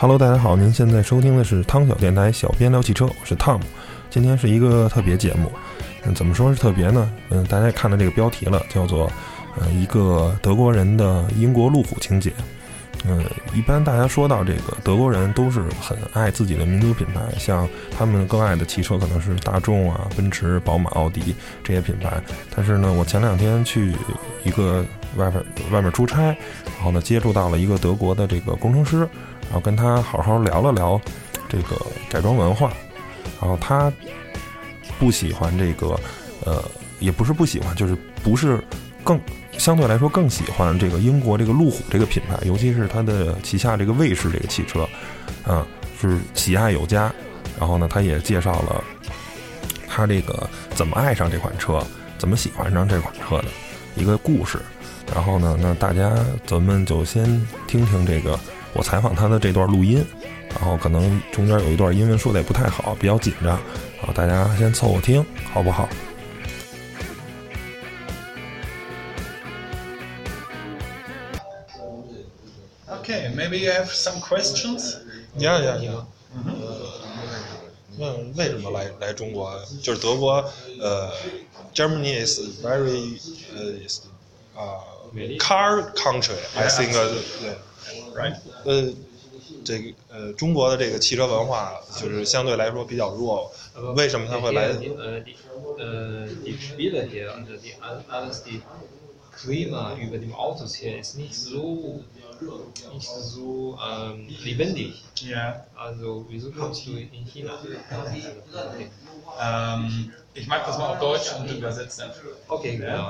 Hello， 大家好，您现在收听的是汤小电台小编聊汽车，我是汤姆。今天是一个特别节目，怎么说是特别呢？大家也看到这个标题了，叫做一个德国人的英国路虎情节。一般大家说到这个德国人都是很爱自己的民族品牌，像他们更爱的汽车可能是大众啊、奔驰、宝马、奥迪这些品牌。但是呢，我前2天去一个外面出差，然后呢接触到了一个德国的这个工程师，然后跟他好好聊了聊这个改装文化。然后他不喜欢这个也不是不喜欢，就是不是更相对来说更喜欢这个英国这个路虎这个品牌，尤其是它的旗下这个卫士这个汽车，是喜爱有加。然后呢，他也介绍了他这个怎么爱上这款车，怎么喜欢上这款车的一个故事。然后呢，那大家咱们就先听听这个我采访他的这段录音，然后可能中间有一段英文说的也不太好，比较紧张，然后大家先凑合听，好不好 ？Okay, maybe you have some questions? Yeah. 为什么来中国？就是德国，Germany is very car country. I think Right. 这个中国的这个汽车文化就是相对来说比较弱。为什么他会来 ？Die Spiele hier, also alles die Klima über dem Autos hier ist nicht so lebendig. Ja. Also wieso kommst du in China? Ich mag das mal auf Deutsch und übersetzen. Okay, genau.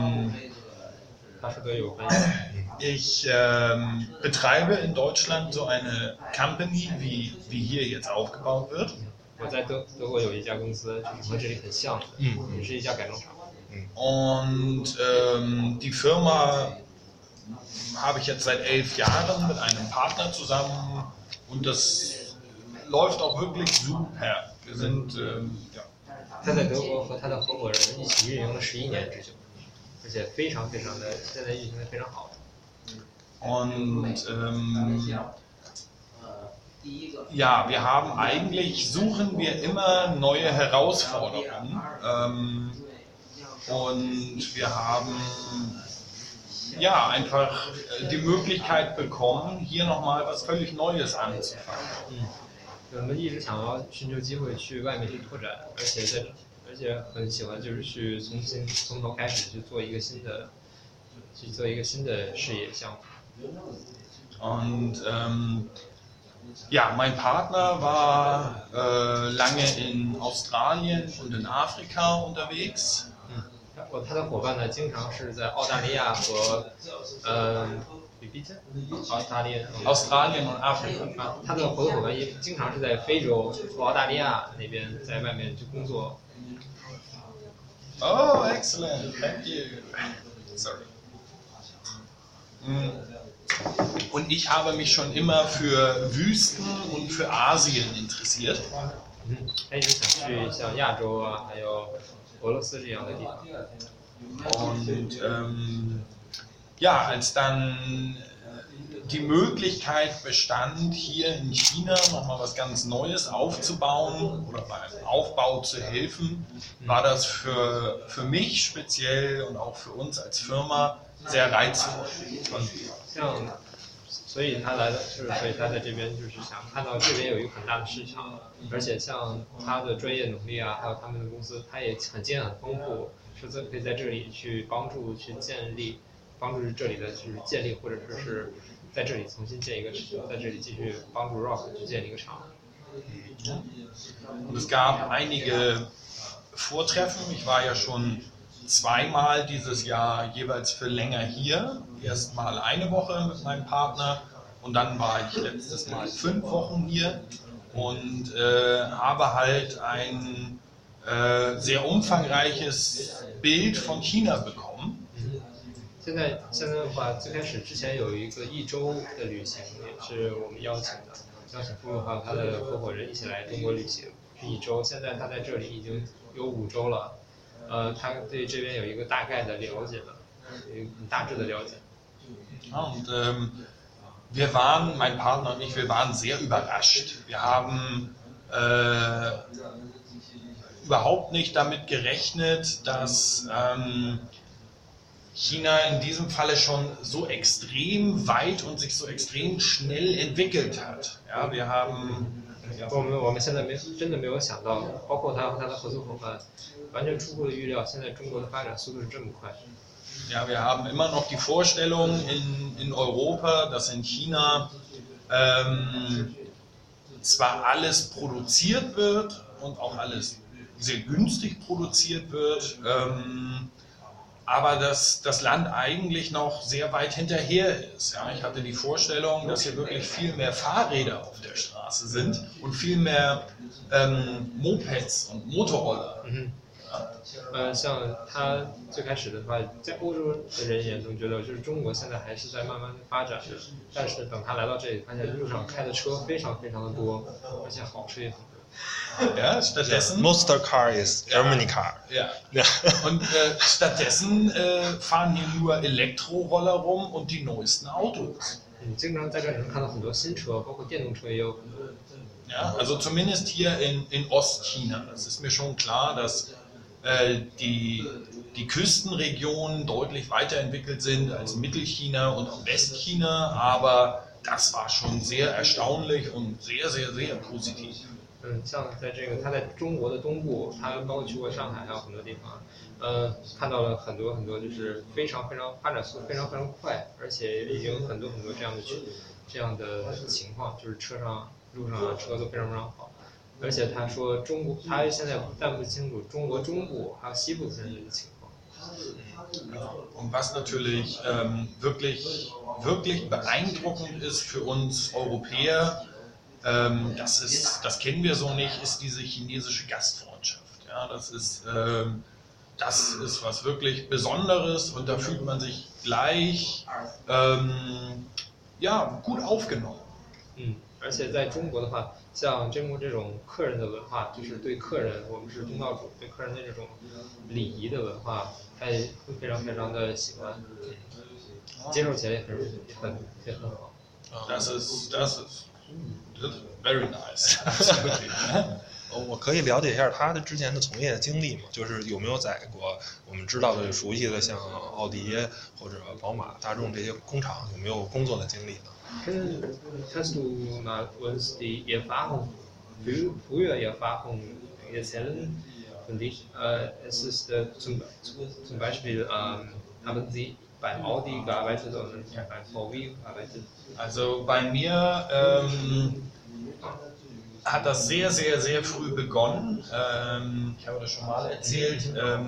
Ich betreibe in Deutschland so eine Company, wie hier jetzt aufgebaut wird. 我在德国有一家公司，和这里很像的，也是一家改装厂。 Und die Firma habe ich jetzt seit 11 Jahren mit einem Partner zusammen und das läuft auch wirklich super. Wir sind 他在德国和他的合伙人一起运营了11年之久，而且非常的现在运行的非常好。 Und ja, suchen wir immer neue Herausforderungen und wir haben einfach die Möglichkeit bekommen, hier nochmal was völlig Neues anzufangen. 我们一直想要寻求机会去外面去拓展，而且很喜欢就是去从头开始去做一个新的事业项目。 Und mein Partner war lange in Australien und in Afrika unterwegs. 他的伙伴呢，经常是在澳大利亚和 Australien und Afrika。 他的合作伙伴也经常是在非洲和澳大利亚那边在外面去工作。 Oh, excellent! Thank you. Sorry. Und ich habe mich schon immer für Wüsten und für Asien interessiert. 他一直想去像亚洲啊，还有俄罗斯这样的地方。 Und als dann die Möglichkeit bestand, hier in China nochmal was ganz Neues aufzubauen oder beim Aufbau zu helfen, war das für mich speziell und auch für uns als Firma sehr reizvoll. 所以他在这边就是想看到这边有一个很大的市场，而且像他的专业能力啊，还有他们的公司，他也很经验很丰富，可以在这里去帮助这里的就是建立，或者说是在这里重新建一个厂，在这里继续帮助 Rock 去建立一个厂。 Und es gab einige Vortreffen. Ich war ja schon 2-mal dieses Jahr jeweils für länger hier. Erstmal eine Woche mit meinem Partner und dann war ich letztes Mal 5 Wochen hier und habe halt ein sehr umfangreiches Bild von China bekommen. 现在的话，最开始之前有一个1周的旅行，也是我们邀请夫妇还有他的合伙人一起来中国旅行，是1周。现在他在这里已经有5周了，他对这边有一个大概的了解了，有一个大致的了解。 Und mein Partner und ich, wir waren sehr überrascht. Wir haben überhaupt nicht damit gerechnet, dass China in diesem Falle schon so extrem weit und sich so extrem schnell entwickelt hat. Ja, wir haben 我们现在真的没有想到，包括他和他的合作伙伴，完全出乎了预料。现在中国的发展速度是这么快。 Ja, wir haben immer noch die Vorstellung in Europa, dass in China zwar alles produziert wird und auch alles sehr günstig produziert wird, aber dass das Land eigentlich noch sehr weit hinterher ist. Ja, ich hatte die Vorstellung, dass hier wirklich viel mehr Fahrräder auf der Straße sind und viel mehr Mopeds und Motorroller. 像他最开始的话，在欧洲的人眼中觉得，就是中国现在还是在慢慢发展的，但是等他来到这里，发现路上开的车非常非常的多，而且好车也很多。 Ja, stattdessen. Monster Car is Germany Car. Ja. Und stattdessen fahren hier nur Elektroroller rum und die neuesten Autos. 经常在这里能看到很多新车，包括电动车也有很多。 Ja, also zumindest hier in Ostchina. Das ist mir schon klar, dass die Küstenregionen deutlich weiterentwickelt sind als Mittelchina und auch Westchina, aber das war schon sehr erstaunlich und sehr, sehr, sehr positiv. 像在这个他在中国的东部，他包括去过上海，还有很多地方，看到了很多很多，就是非常非常发展速度非常非常快，而且已经有很多很多这样的情况，就是路上车都非常非常好。而且他说他现在但不清楚中国中部还有西部现在的情况。 Und was natürlich wirklich, wirklich beeindruckend ist für uns Europäer, das kennen wir so nicht, ist diese chinesische Gastfreundschaft. Ja, das ist was wirklich Besonderes und da fühlt man sich gleich gut aufgenommen. 而且在中国的话，像中国这种客人的文化，就是对客人，我们是东道主，对客人的这种礼仪的文化，他也会非常非常的喜欢，接受起来也很好。 Das ist very nice. Absolutely. 我可以了解一下他的之前的从业经历吗？就是有没有在过我们知道的熟悉的像奥迪或者宝马、大众这些工厂有没有工作的经历呢 ？Kannst du mal uns die Erfahrung, früher Erfahrung erzählen von dich? Es ist zum Beispiel, haben Sie beim Audi gearbeitet oder beim VW gearbeitet? Also bei mir hat das sehr, sehr, sehr früh begonnen. Ich habe das schon mal erzählt.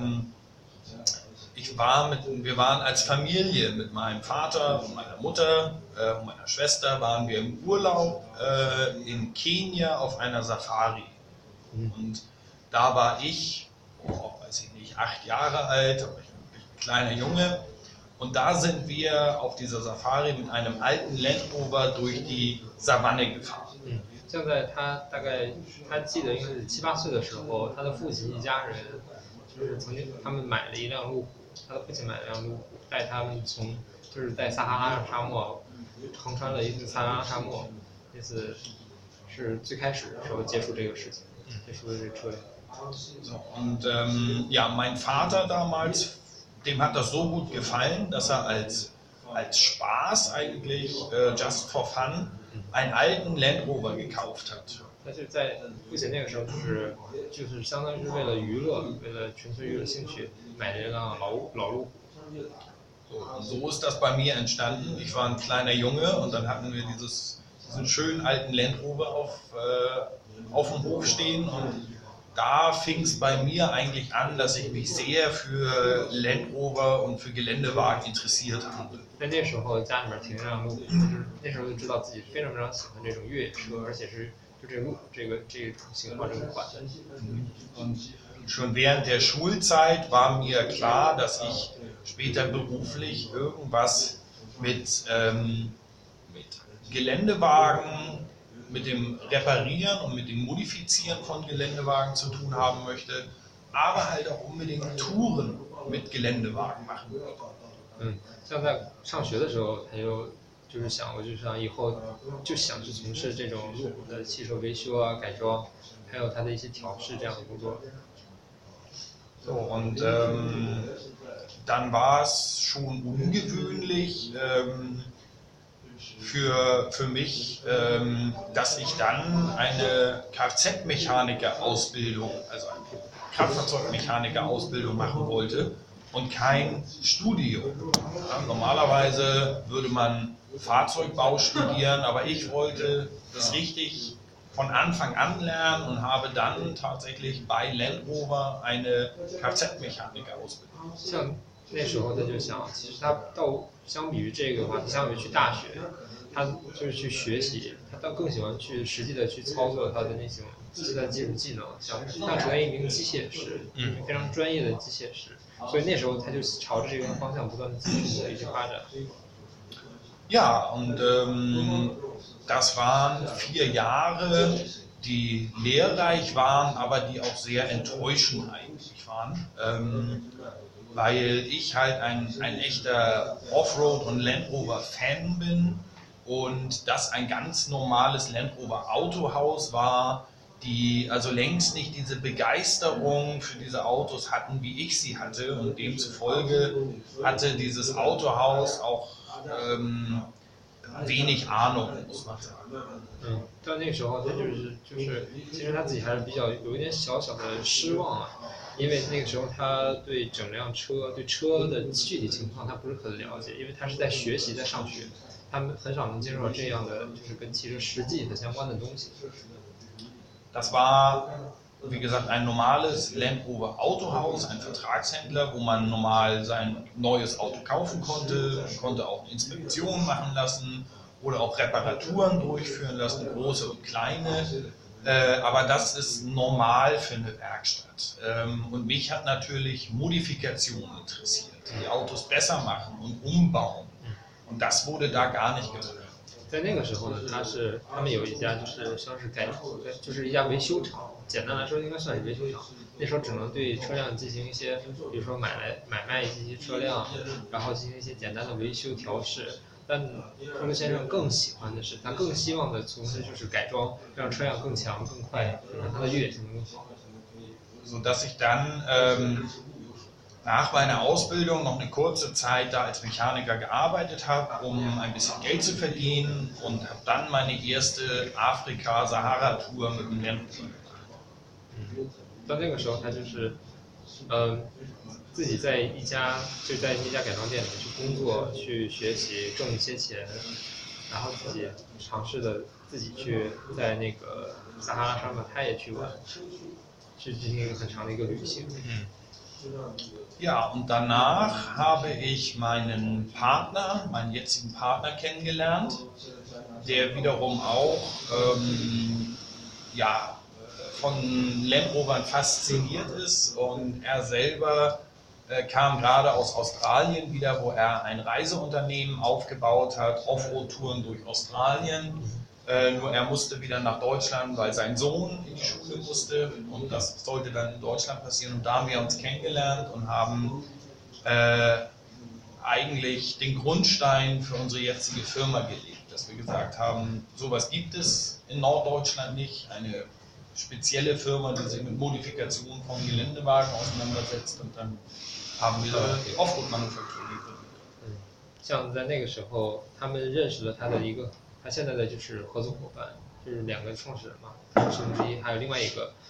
Wir waren als Familie mit meinem Vater und meiner Mutter und meiner Schwester waren wir im Urlaub in Kenia auf einer Safari. Und da war ich, weiß ich nicht, 8 Jahre alt, aber ich bin ein kleiner Junge. Und da sind wir auf dieser Safari mit einem alten Land Rover durch die Savanne gefahren. 像在他大概他记得应该是7、8岁的时候，他的父亲一家人就是曾经他们买了一辆路虎，他的父亲买了一辆路虎，带他们就是在撒哈拉沙漠横穿了一次撒哈拉沙漠，那次是最开始的时候接触这个事情，接触的这车。 Und mein Vater damals, dem hat das so gut gefallen, dass er als Spaß eigentlich, just for fun, einen alten Land Rover gekauft hat. 但是在父亲那个时候就是相当于是为了娱乐，为了纯粹娱乐兴趣买了一辆老路虎。 So ist das bei mir entstanden. Ich war ein kleiner Junge und dann hatten wir diesen schönen alten Land Rover auf dem Hof stehen und da fing es bei mir eigentlich an, dass ich mich sehr für Land Rover und für Geländewagen interessiert habe. 在那时候家里面停一辆路虎，那时候就知道自己非常非常喜欢这种越野车，而且是就这种型号这个款的。 Und schon während der Schulzeit war mir klar, dass ich später beruflich irgendwas mit Geländewagen, mit dem Reparieren und mit dem Modifizieren von Geländewagen zu tun haben möchte, aber halt auch unbedingt Touren mit Geländewagen machen würde. 像在上学的时候，他就就是想我就想以后就想去从事这种路虎的汽车维修啊、改装，还有它的一些调试这样的工作。 So, und dann war es schon ungewöhnlich für mich, dass ich dann eine Kfz-Mechaniker-Ausbildung, also eine Kraftfahrzeugmechaniker-Ausbildung machen wollte und kein Studium. Ja, normalerweise würde man Fahrzeugbau studieren, aber ich wollte das richtig von Anfang an lernen und habe dann tatsächlich bei Land Rover eine Kfz-Mechaniker-Ausbildung. 像那时候他就想，其实他相比于这个的话，他相比于去大学，他就是去学习，他倒更喜欢去实际的去操作他的那种现在技术技能，像他成为一名机械师，非常专业的机械师，所以那时候他就朝着这个方向不断的继续的一直发展。 Ja, und das waren 4 Jahre, die lehrreich waren, aber die auch sehr enttäuschend eigentlich waren, weil ich halt ein echter Offroad- und Land Rover-Fan bin und das ein ganz normales Land Rover Autohaus war, die also längst nicht diese Begeisterung für diese Autos hatten, wie ich sie hatte, und demzufolge hatte dieses Autohaus auch wenig Ahnung, muss man sagen. 到那个时候他其实他自己还是比较有一点小小的失望啊，因为那个时候他对整辆车、对车的具体情况他不是很了解，因为他是在学习、在上学，他们很少能接触到这样的就是跟汽车实际很相关的东西。 Das war, wie gesagt, ein normales Land Rover Autohaus, ein Vertragshändler, wo man normal sein neues Auto kaufen konnte. Man konnte auch Inspektionen machen lassen oder auch Reparaturen durchführen lassen, große und kleine. Aber das ist normal für eine Werkstatt. Und mich hat natürlich Modifikation interessiert, die Autos besser machen und umbauen. Und das wurde da gar nicht gehört. 在那个时候呢，他们有一家就是一家维修厂，简单来说应该算是维修厂。那时候只能对车辆进行一些，比如说买卖这些车辆，然后进行一些简单的维修调试。但克鲁先生更喜欢的是，他更希望的从事就是改装，让车辆更强、更快，让它的越野性能更好。 Sodass ich dann nach meiner Ausbildung noch eine kurze Zeit da als Mechaniker gearbeitet habe, um ein bisschen Geld zu verdienen, und habe dann meine erste Afrika-Sahara-Tour mit dem Land Rover gemacht. 到那个时候，他就是自己在一家改装店里面去工作，去学习，挣一些钱，然后自己尝试的自己去在那个撒哈拉沙漠他也去玩，去进行一个很长的一个旅行。 Ja, und danach habe ich meinen jetzigen Partner kennengelernt, der wiederum auch von Land Rovern fasziniert ist, und er selber kam gerade aus Australien wieder, wo er ein Reiseunternehmen aufgebaut hat, Offroad-Touren durch Australien. Nur er musste wieder nach Deutschland, weil sein Sohn in die Schule musste, und das sollte dann in Deutschland passieren. Und da haben wir uns kennengelernt und haben eigentlich den Grundstein für unsere jetzige Firma gelegt, dass wir gesagt haben, sowas gibt es in Norddeutschland nicht, eine spezielle Firma, die sich mit Modifikationen von Geländewagen auseinandersetzt, und dann haben wir die Offroad-Manufaktur gegründet. 像在那个时候，他们认识了他现在的就是合作伙伴，就是2个创始人嘛，其中之一，还有另外一个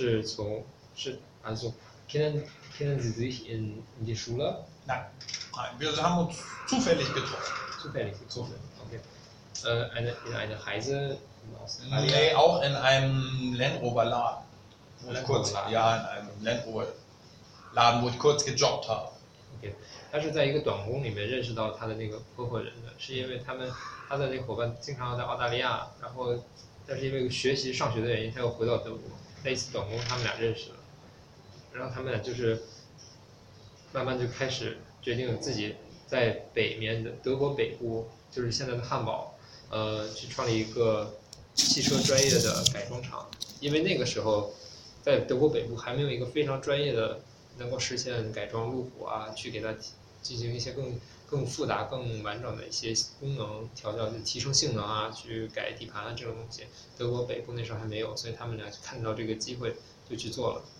also kennen Sie sich in die Schule? Nein, wir haben uns zufällig getroffen. Zufällig, okay. In einer Reise Nee, auch in einem Land Rover Laden. In einem Land Rover Laden, wo ich kurz gejobbt habe. Okay. 他是在一个短工里面认识到他的那个合伙人的，是因为他的那个伙伴经常在澳大利亚，然后但是因为上学的原因，他又回到德国。在一次短工，他们俩认识了，然后他们俩就是慢慢就开始决定自己在北面的德国北部，就是现在的汉堡，去创立一个汽车专业的改装厂。因为那个时候在德国北部还没有一个非常专业的能够实现改装路虎啊，去给它进行一些更更复杂、更完整的一些功能调教，就提升性能啊，去改底盘啊这种东西，德国北部那时候还没有，所以他们俩看到这个机会就去做了。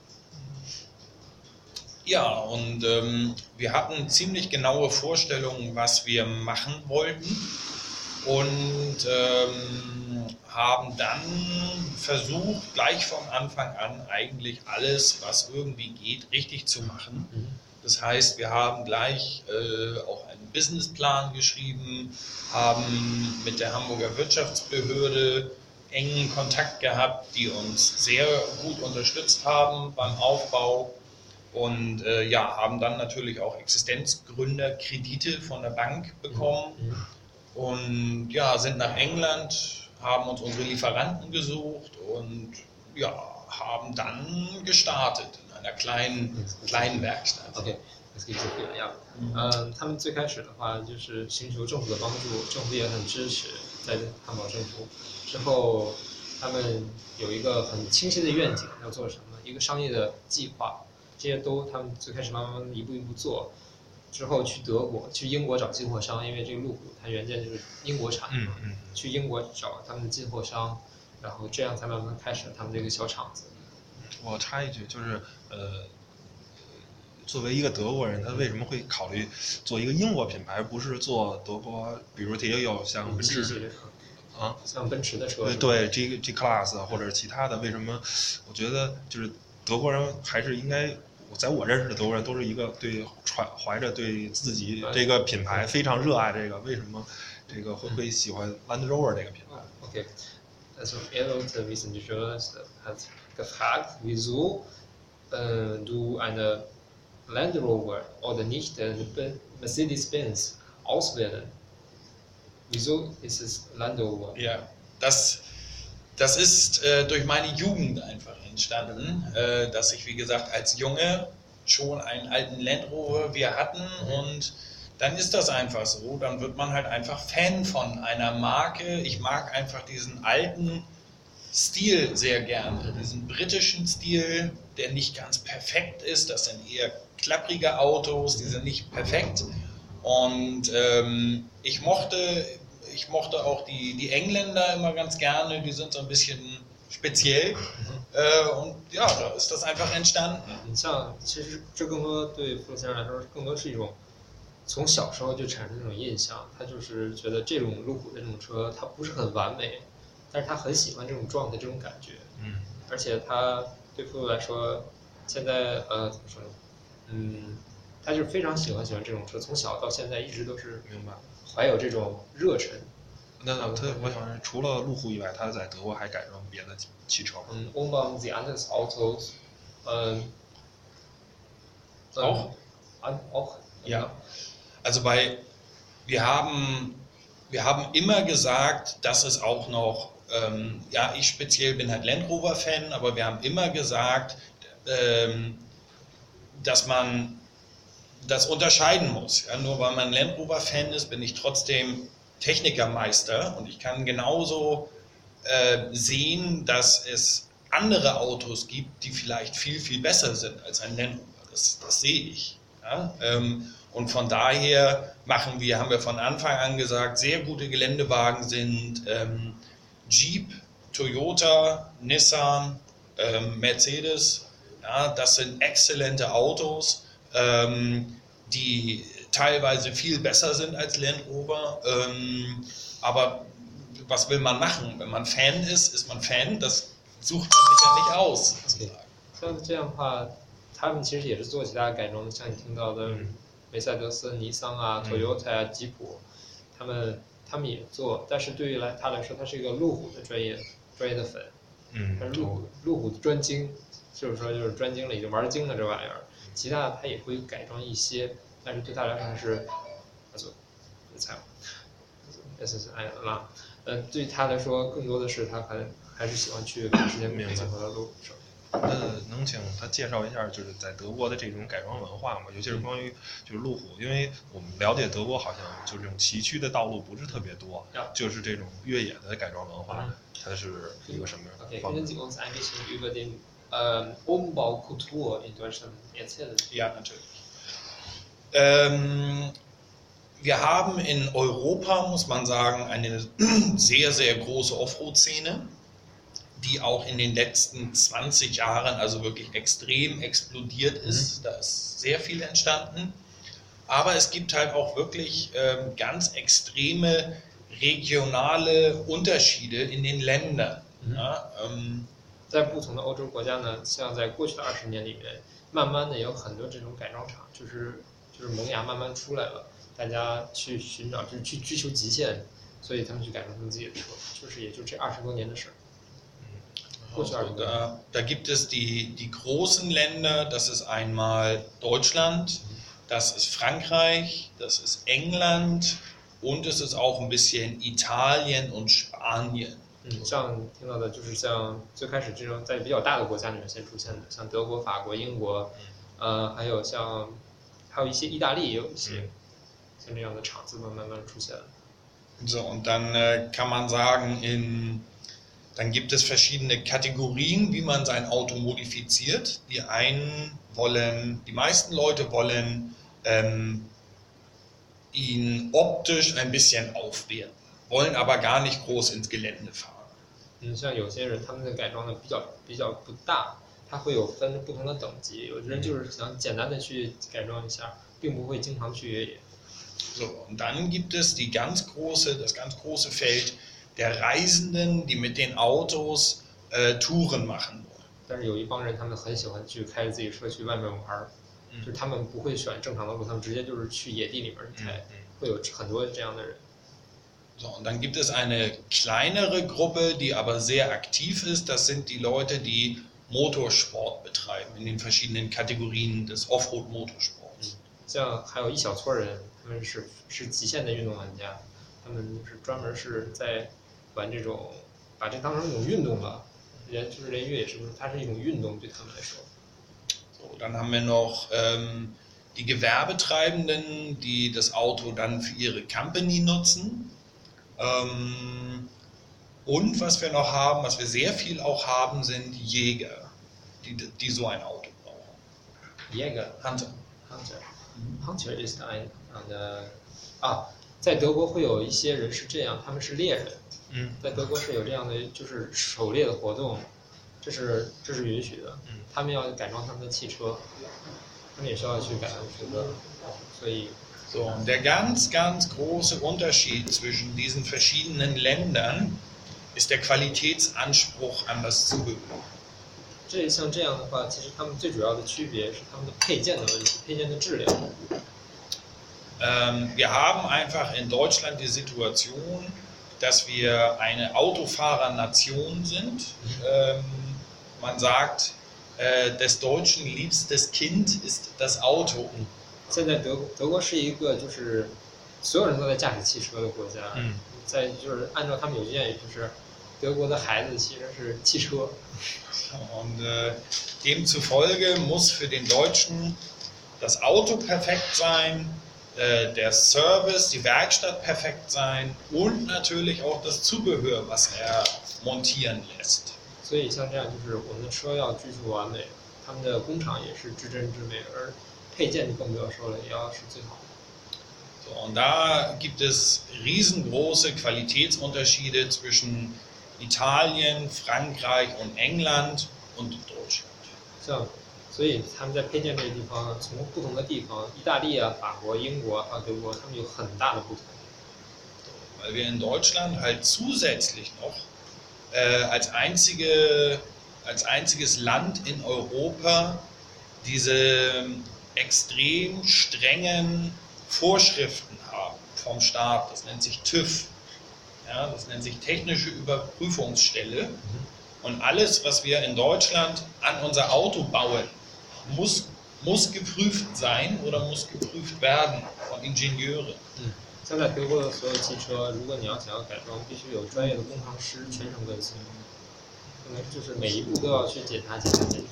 Ja, und wir hatten ziemlich genaue Vorstellungen, was wir machen wollten und haben dann versucht, gleich von Anfang an eigentlich alles, was irgendwie geht, richtig zu machen. Das heißt, wir haben gleich auch einen Businessplan geschrieben, haben mit der Hamburger Wirtschaftsbehörde engen Kontakt gehabt, die uns sehr gut unterstützt haben beim Aufbau. Und haben dann natürlich auch Existenzgründerkredite von der Bank bekommen und sind nach England, haben uns unsere Lieferanten gesucht und haben dann gestartet in einer kleinen Werkstatt. Okay. Das gibt so viel, ja. 他们最开始的话就是寻求政府的帮助，政府也很支持，在汉堡政府之后，他们有一个很清晰的愿景，要做什么，一个商业的计划。这些都他们最开始慢慢一步一步做，之后去德国、去英国找进货商，因为这个路虎它原件就是英国产的，去英国找他们的进货商，然后这样才慢慢开始了他们这个小厂子。 我插一句，就是作为一个德国人，他为什么会考虑做一个英国品牌，不是做德国，比如也有像奔驰啊， 像奔驰的车， 对 G Class 或者其他的，为什么？我觉得就是德国人还是应该。在我认识的德国人都是一个怀着对自己这个品牌非常热爱这个，为什么这个会喜欢 Land Rover 这个品牌 ？Okay, also Erdotte Wissenschaftler hat gefragt, wieso du eine Land Rover oder nicht Mercedes-Benz auswählen? Wieso ist es Land Rover? Ja, das ist durch meine Jugend einfach entstanden, dass ich, wie gesagt, als Junge schon einen alten Land Rover wir hatten und dann ist das einfach so, dann wird man halt einfach Fan von einer Marke. Ich mag einfach diesen alten Stil sehr gerne, diesen britischen Stil, der nicht ganz perfekt ist, das sind eher klapprige Autos, die sind nicht perfekt und ich mochte auch die Engländer immer ganz gerne, die sind so ein bisschen speziell und da ist das einfach entstanden. 你像，其实这更多对傅先生来说，更多是一种从小时候就产生这种印象。他就是觉得这种路虎的这种车，它不是很完美，但是他很喜欢这种状态、这种感觉。而且他对傅来说，现在怎么说呢？他就是非常喜欢这种车，从小到现在一直都是明白， 怀有这种热忱。 那我想除了路虎以外，他在德国还改装别的汽车吗 ？Umbauen Sie anderes Autos? Auch? Ja. Also wir haben immer gesagt, dass es auch noch, ich speziell bin halt Land Rover Fan, aber wir haben immer gesagt, dass man das unterscheiden muss. Ja, nur weil man Land Rover Fan ist, bin ich trotzdem Technikermeister und ich kann genauso sehen, dass es andere Autos gibt, die vielleicht viel, viel besser sind als ein Land Rover. Das sehe ich. Ja? Und von daher haben wir von Anfang an gesagt, sehr gute Geländewagen sind Jeep, Toyota, Nissan, Mercedes. Ja, das sind exzellente Autos, die teilweise viel besser sind als Land Rover. Aber was will man machen? Wenn man Fan ist, ist man Fan. Das sucht man sich ja nicht aus. 像这样的话，他们其实也是做其他改装的，像你听到的梅赛德斯、尼桑啊、Toyota 啊、吉普，他们也做。但是对于他来说，他是一个路虎的专业的粉，他是路虎专精，就是专精了，已经玩精了这玩意儿。其他的他也会改装一些。但是对他来说还是，对他来说更多的是他还是喜欢去把时间结合到路虎上。 能请他介绍一下，就是在德国的这种改装文化吗？尤其是关于就是路虎，因为我们了解德国好像就是这种崎岖的道路不是特别多，就是这种越野的改装文化，它是一个什么样的方式？ Können Sie uns ein bisschen über den Umbaukultur in Deutschland erzählen? Ja, natürlich. Wir haben in Europa, muss man sagen, eine sehr, sehr große Offroad-Szene, die auch in den letzten 20 Jahren also wirklich extrem explodiert ist. Da ist sehr viel entstanden. Aber es gibt halt auch wirklich ganz extreme regionale Unterschiede in den Ländern. Ja, 在不同的欧洲国家呢，像在过去的20年里面，慢慢的有很多这种改装厂，就是萌芽慢慢出来了，大家去寻找，就是去追求极限，所以他们去改装他们自己的车，也就这20多年的事儿。过去20多年。 Da gibt es die großen Länder, das ist einmal Deutschland, das ist Frankreich, das ist England und es ist auch ein bisschen Italien und Spanien. 像听到的就是像最开始这种在比较大的国家里面先出现的，像德国、法国、英国，还有一些意大利也有一些像这样的厂子慢慢出现了。 So, und dann kann man sagen, dann gibt es verschiedene Kategorien, wie man sein Auto modifiziert. Die meisten Leute wollen ihn optisch ein bisschen aufwerten, wollen aber gar nicht groß ins Gelände fahren. 像有些人他们的改装的比较不大，它会有分不同的等级，有的人就是想简单的去改装一下，并不会经常去越野。 So, und dann gibt es das ganz große Feld der Reisenden, die mit den Autos Touren machen wollen. 但是有一帮人，他们很喜欢去开着自己车去外面玩，就是他们不会选正常的路，他们直接就是去野地里面开，会有很多这样的人。 So, und dann gibt es eine kleinere Gruppe, die aber sehr aktiv ist. Das sind die Leute, die Motorsport betreiben in den verschiedenen Kategorien des Offroad-Motorsports. 像还有一小撮人，他们是极限的运动玩家，他们是专门是在玩这种，把这当成一种运动吧，连越野是不是？它是一种运动对他们来说。 So, dann haben wir noch die Gewerbetreibenden, die das Auto dann für ihre Company nutzen. Und was wir noch haben, was wir sehr viel auch haben, sind Jäger, die so ein Auto brauchen. Jäger? Hunter. Hunter ist 在德国会有一些人是这样，他们是猎人。在德国是有这样的，就是狩猎的活动，这是允许的。他们要改装他们的汽车，他们也需要去改装车的，所以。 So, und der ganz, ganz große Unterschied zwischen diesen verschiedenen Ländern ist der Qualitätsanspruch an das Zubehör. 像这样的话，其实他们最主要的区别是他们的配件的问题，配件的质量。 Wir haben einfach in Deutschland die Situation, dass wir eine Autofahrernation sind. Man sagt, des Deutschen liebstes Kind ist das Auto. 现在德国是一个就是所有人都在驾驶汽车的国家，在就是按照他们有经验，也就是德国的孩子其实是汽车。 Und demzufolge muss für den Deutschen das Auto perfekt sein, der Service, die Werkstatt perfekt sein und natürlich auch das Zubehör, was er montieren lässt. 所以像这样就是我们的车要追求完美，他们的工厂也是至真至美，而配件就更不要说了，也要是最好的。 So, und da gibt es riesengroße Qualitätsunterschiede zwischen Italien, Frankreich und England und Deutschland. 所以他们在配件这个地方，从不同的地方，意大利啊、法国、英国还有德国，他们有很大的不同。 Weil wir in Deutschland halt zusätzlich noch als einziges Land in Europa diese extrem strengen Vorschriften haben vom Staat. Das nennt sich TÜV. Ja, das nennt sich Technische Überprüfungsstelle. Und alles, was wir in Deutschland an unser Auto bauen, muss geprüft sein oder muss geprüft werden von Ingenieuren. 像在德国的所有汽车，如果你要想要改装，必须有专业的工程师全程跟随，可能就是每一步都要去检查。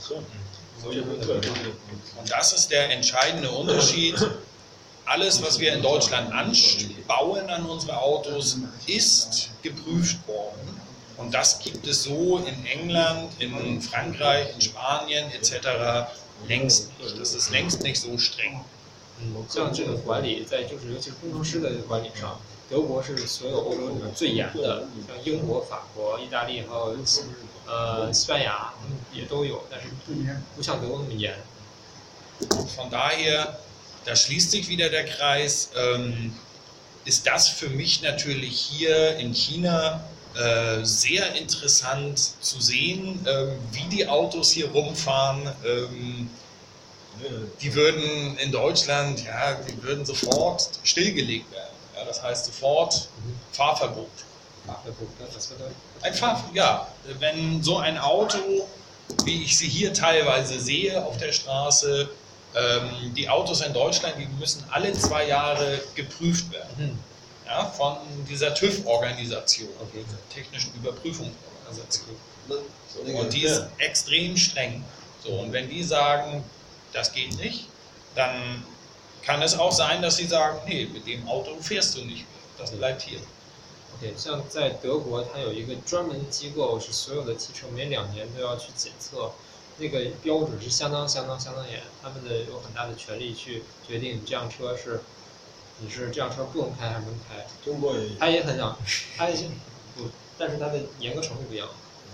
Und das ist der entscheidende Unterschied. Alles, was wir in Deutschland bauen an unsere Autos, ist geprüft worden. Und das gibt es so in England, in Frankreich, in Spanien etc. längst nicht. Das ist längst nicht so streng. 像这个管理就是尤其是工程师的管理上，德国是所有欧洲里面最严的，像英国、法国、意大利还有西班牙也都有，但是不像德国那么严。 Von daher, da schließt sich wieder der Kreis, ist das für mich natürlich hier in China sehr interessant zu sehen, wie die Autos hier rumfahren. Die würden in Deutschland, die würden sofort stillgelegt werden. Ja, das heißt sofort Fahrverbot. Wenn so ein Auto, wie ich sie hier teilweise sehe auf der Straße, die Autos in Deutschland, die müssen alle 2 Jahre geprüft werden. Ja, von dieser TÜV-Organisation, technischen Überprüfungsorganisation. Und die ist extrem streng. So, und wenn die sagen, das geht nicht, dann kann es auch sein, dass sie sagen, nee, mit dem Auto fährst du nicht mehr, das bleibt hier. Okay, 像在德国，它有一个专门机构，是所有的汽车每2年都要去检测，那个标准是相当严，他们有很大的权利去决定你这辆车你是这辆车不能开还是能开。 中国也他也很想，不，但是它的严格程度不一样。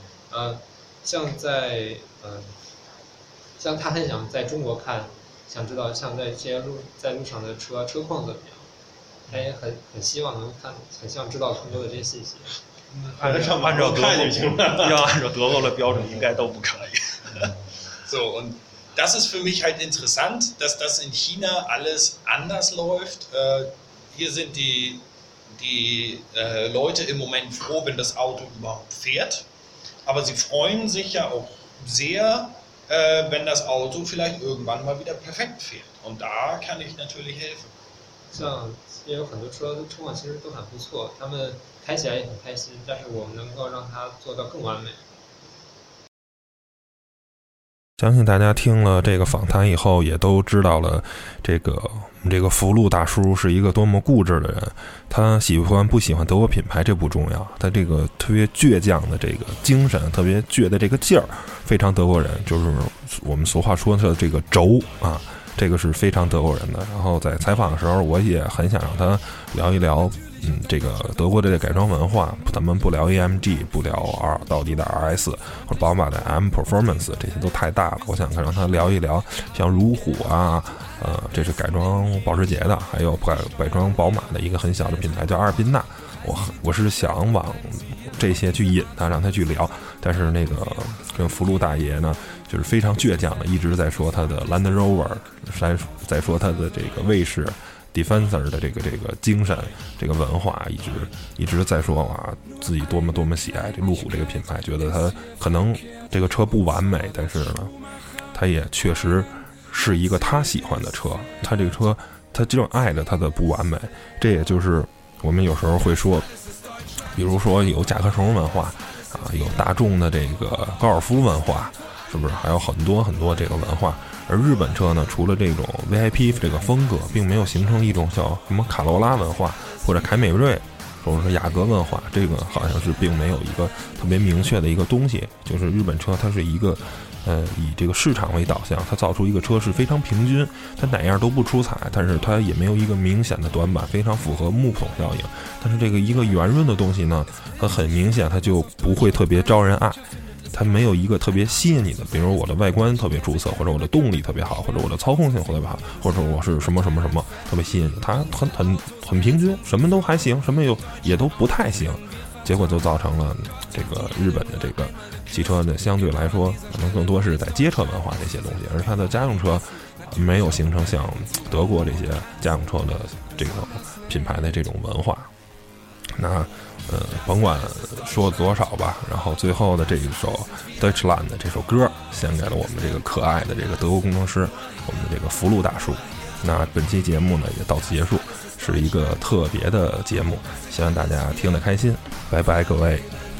像他很想在中国看，想知道像在这些在路上的车况怎么样，他也很希望能看，很想知道更多的这些信息。 按照德国的标准，应该都不可以。 So, und das ist für mich halt interessant, dass das in China alles anders läuft. Hier sind die Leute im Moment froh, wenn das Auto überhaupt fährt. Aber sie freuen sich ja auch sehr, wenn das Auto vielleicht irgendwann mal wieder perfekt fährt. Und da kann ich natürlich helfen. 像也有很多车况其实都很不错，他们开起来也很开心，但是我们能够让它做到更完美。 相信大家听了这个访谈以后，也都知道了这个福禄大叔是一个多么固执的人。他喜欢不喜欢德国品牌这不重要，他这个特别倔强的这个精神，特别倔的这个劲儿，非常德国人，就是我们俗话说的这个轴啊，这个是非常德国人的。然后在采访的时候，我也很想让他聊一聊这个德国的这个改装文化，咱们不聊 AMG， 不聊奥迪的 RS 或者宝马的 M Performance， 这些都太大了。我想让他聊一聊像如虎啊，这是改装保时捷的，还有改装宝马的一个很小的品牌叫阿尔宾纳。我是想往这些去引他，让他去聊。但是那个跟福禄大爷呢，就是非常倔强的，一直在说他的 Land Rover， 在说他的这个卫士Defensor 的这个精神，这个文化，一直在说自己多么喜爱这路虎这个品牌，觉得它可能这个车不完美，但是呢，它也确实是一个他喜欢的车。他这个车，他正爱着它的不完美。这也就是我们有时候会说，比如说有甲壳虫文化有大众的这个高尔夫文化，是不是？还有很多这个文化。而日本车呢，除了这种 VIP 这个风格，并没有形成一种叫什么卡罗拉文化或者凯美瑞或者说雅阁文化，这个好像是并没有一个特别明确的一个东西。就是日本车它是一个以这个市场为导向，它造出一个车是非常平均，它哪样都不出彩，但是它也没有一个明显的短板，非常符合木桶效应。但是这个一个圆润的东西呢，它很明显它就不会特别招人爱。它没有一个特别吸引你的，比如我的外观特别出色，或者我的动力特别好，或者我的操控性特别好，或者我是什么特别吸引你。它很平均，什么都还行，什么也都不太行，结果就造成了这个日本的这个汽车呢，相对来说可能更多是在街车文化这些东西，而它的家用车没有形成像德国这些家用车的这个品牌的这种文化。那甭管说多少吧，然后最后的这一首 Deutschland 的这首歌献给了我们这个可爱的这个德国工程师，我们的这个福禄大叔。那本期节目呢也到此结束，是一个特别的节目，希望大家听得开心。拜拜各位。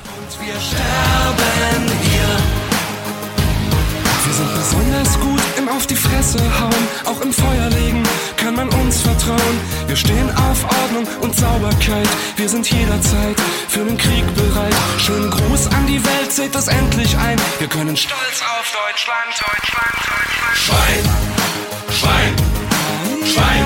Wir sind besonders gut im Auf die Fresse hauen, auch im Feuer legen kann man uns vertrauen. Wir stehen auf Ordnung und Sauberkeit, wir sind jederzeit für den Krieg bereit. Schönen Gruß an die Welt, seht es endlich ein, wir können stolz auf Deutschland. Schwein, Schwein, Schwein.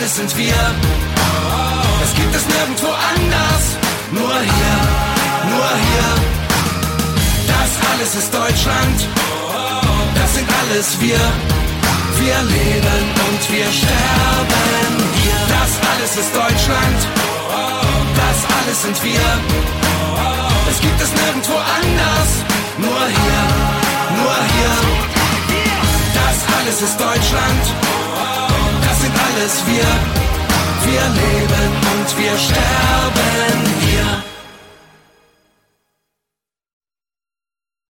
alles sind wir. Es gibt es nirgendwo anders, nur hier, nur hier. Das alles ist Deutschland, das sind alles wir. Wir leben und wir sterben hier. Das alles ist Deutschland, das alles sind wir. Es gibt es nirgendwo anders, nur hier, nur hier. Das alles ist Deutschland, das sind alles wir. Wir leben und wir sterben hier.